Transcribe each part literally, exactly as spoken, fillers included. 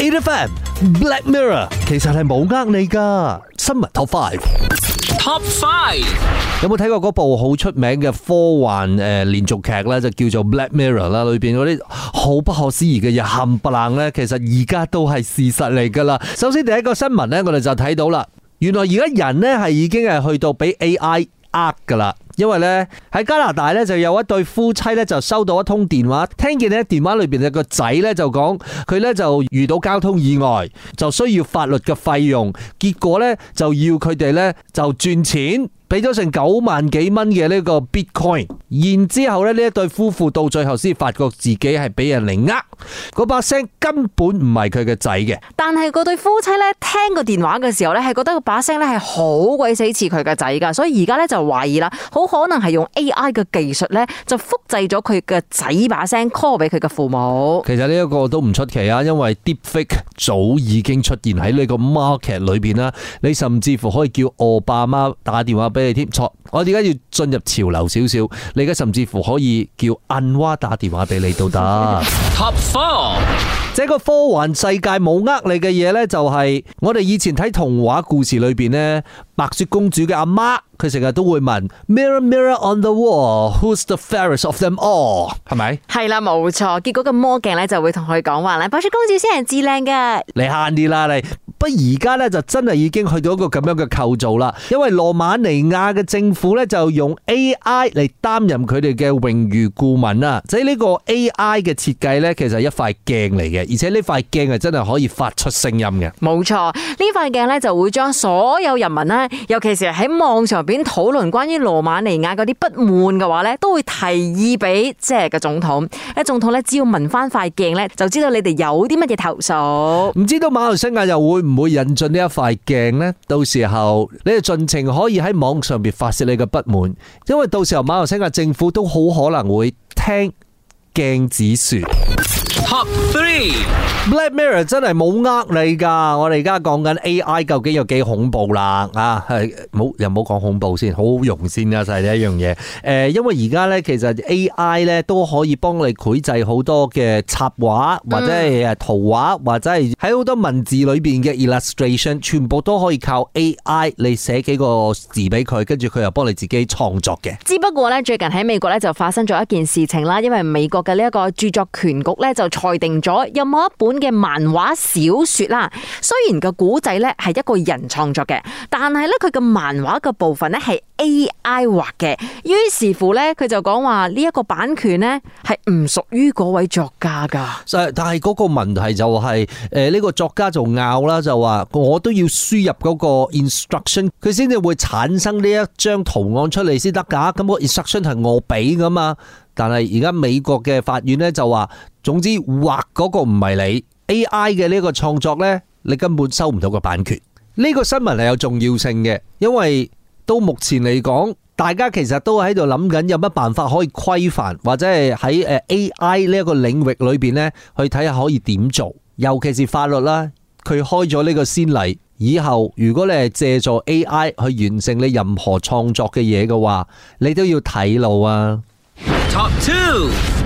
A F M Black Mirror 其實係冇呃你噶。新聞 Top Five。Top Five 有冇睇過嗰部好出名嘅科幻誒連續劇咧？就叫做 Black Mirror 啦，裏邊嗰啲好不可思議嘅嘢冚唪唥咧，其實而家都係事實嚟噶啦。首先第一個新聞咧，我哋就睇到啦，原來而家人咧係已經係去到俾 A I 呃噶啦。因為咧喺加拿大咧就有一對夫妻咧就收到一通電話，聽見咧電話裏邊嘅個仔咧就講佢咧就遇到交通意外，就需要法律嘅費用，結果咧就要佢哋咧就轉錢。俾咗成九萬幾蚊嘅呢個 Bitcoin， 然之後咧呢一對夫婦到最後先發覺自己係俾人嚟呃，嗰把聲根本唔係佢嘅仔嘅。 但係嗰對夫妻咧聽個電話嘅時候咧，係覺得個把聲咧係好鬼死似佢嘅仔噶，所以而家咧就懷疑啦，好可能係用 A I 嘅技術咧就複製咗佢嘅仔把聲 call 俾佢嘅父母。 其實呢一個都唔出奇啊，因為 Deepfake 早已經出現喺呢個 market 裏邊啦，你甚至乎可以叫奧巴馬打電話俾你添。錯，我而家要進入潮流少少，你而家甚至乎可以叫安娃打電話俾你都得。Top Four， 這個科幻世界冇呃你嘅嘢呢，就係我哋以前睇童話故事裏邊呢，白雪公主嘅阿媽，佢成日都會問 Mirror Mirror on the wall, who's the fairest of them all？ 係咪？係啦，冇錯。結果個魔鏡呢就會同佢講話咧，白雪公主先係至靚嘅。 你慳啲啦，你。不過而家咧就真係已經去到一個咁樣嘅構造啦，因為羅馬尼亞嘅政府咧就用 A I 嚟擔任佢哋嘅榮譽顧問啊，即係呢個 A I 嘅設計咧，其實係一塊鏡嚟嘅，而且呢塊鏡係真係可以發出聲音嘅。 冇錯，呢塊鏡咧就會將所有人民咧，尤其是喺網上邊討論關於羅馬尼亞嗰啲不滿嘅話咧，都會提議俾即係個總統。誒，總統咧只要聞翻塊鏡咧，就知道你哋有啲乜嘢投訴。 唔知道馬來西亞又會唔會引進呢一塊鏡呢？到時候你哋盡情可以喺網上邊發洩你嘅不滿，因為到時候馬來西亞政府都好可能會聽鏡子說。Top three Black Mirror 真係冇呃你噶，我哋而家講緊 A I 究竟有幾恐怖啦啊，係冇又唔好講恐怖先，好好用先啊，就係呢一樣嘢。誒，因為而家咧其實 A I 咧都可以幫你繪製好多嘅插畫或者係誒圖畫，或者係喺好多文字裏邊嘅 illustration， 全部都可以靠 A I 你寫幾個字俾佢，跟住佢又幫你自己創作嘅。 只不過咧最近喺美國咧就發生咗一件事情啦，因為美國嘅呢一個著作權局咧就裁定咗有冇一本嘅漫畫小說啦，雖然個古仔咧係一個人創作嘅，但係咧佢嘅漫畫嘅部分咧係 A I 畫嘅，於是乎咧佢就講話呢一個版權咧係唔屬於嗰位作家噶。 但係嗰個問題就係誒呢個作家就拗啦，就話我都要輸入嗰個 instruction， 佢先至會產生呢一張圖案出嚟先得噶。咁個 instruction 係我俾噶嘛。但係而家美國嘅法院咧就話，總之畫嗰個唔係你 A I 嘅呢個創作咧，你根本收唔到個版權。呢個新聞係有重要性嘅，因為到目前嚟講，大家其實都喺度諗緊有乜辦法可以規範，或者係喺誒 A I 呢一個領域裏邊咧，去睇下可以點做。尤其是法律啦，佢開咗呢個先例，以後如果你係借助 A I 去完成你任何創作嘅嘢嘅話，你都要睇路啊。Top two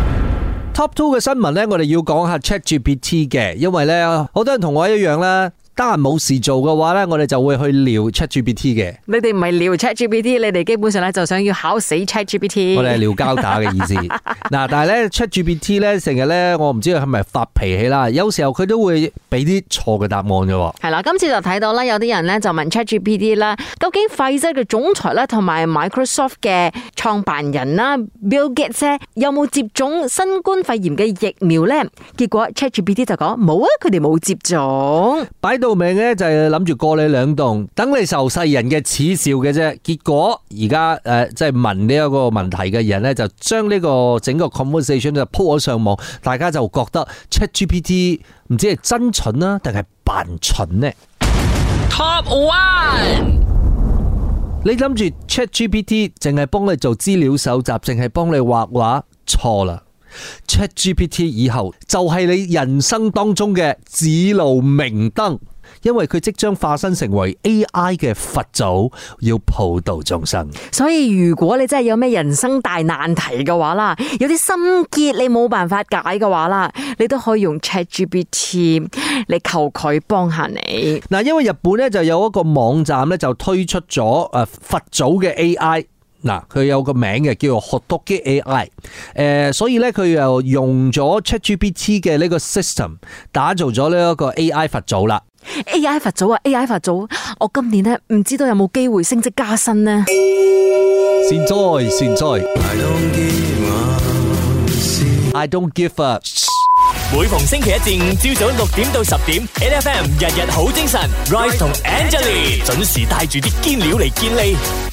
Top two 嘅新聞呢，我哋要講下 ChatGPT 嘅，因為呢，好多人同我一樣啦，得閒冇事做嘅話呢，我哋就會去聊 ChatGPT 嘅。 你哋唔係聊 ChatGPT， 你哋基本上咧就想要考死 ChatGPT。 我哋係聊交打嘅意思。嗱，但係咧 ChatGPT 咧成日咧，我唔知佢係咪發脾氣啦，有時候佢都會俾啲錯嘅答案嘅。 係啦，今次就睇到啦，有啲人咧就問 ChatGPT 啦，究竟輝瑞嘅總裁咧同埋 Microsoft 嘅創辦人啦 Bill Gates 有冇接種新冠肺炎嘅疫苗咧？結果 ChatGPT 就講冇啊，佢哋冇接種。 擺到明咧就係諗住過你兩棟，等你受世人嘅恥笑嘅啫。結果而家誒即係問呢一個問題嘅人咧，就將呢個整個 conversation 就 po 咗上網，大家就覺得 ChatGPT 唔知係真蠢啊，定係扮蠢呢？ Top one， 你諗住 ChatGPT 淨係幫你做資料搜集，淨係幫你畫畫，錯啦。ChatGPT 以後就係你人生當中嘅指路明燈。 因為佢即將化身成為 A I 嘅佛祖，要普渡眾生。 所以如果你真係有咩人生大難題嘅話啦，有啲心結你冇辦法解嘅話啦，你都可以用 ChatGPT 嚟求佢幫下你。 嗱，因為日本咧就有一個網站咧就推出咗誒佛祖嘅 A I。嗱，佢有個名嘅叫做 Hotoki A I， 誒，所以咧佢又用咗 ChatGPT 嘅呢個 system 打造咗呢一個 A I 佛祖啦。 A I 佛祖啊 ，A I 佛祖，我今年咧唔知道有冇機會升職加薪呢？ 善哉善哉 ，I don't give up。 每逢星期一至五朝早六點到十點 ，N F M 日日好精神 ，Rise 同 Angelie 準時帶住啲堅料嚟健利。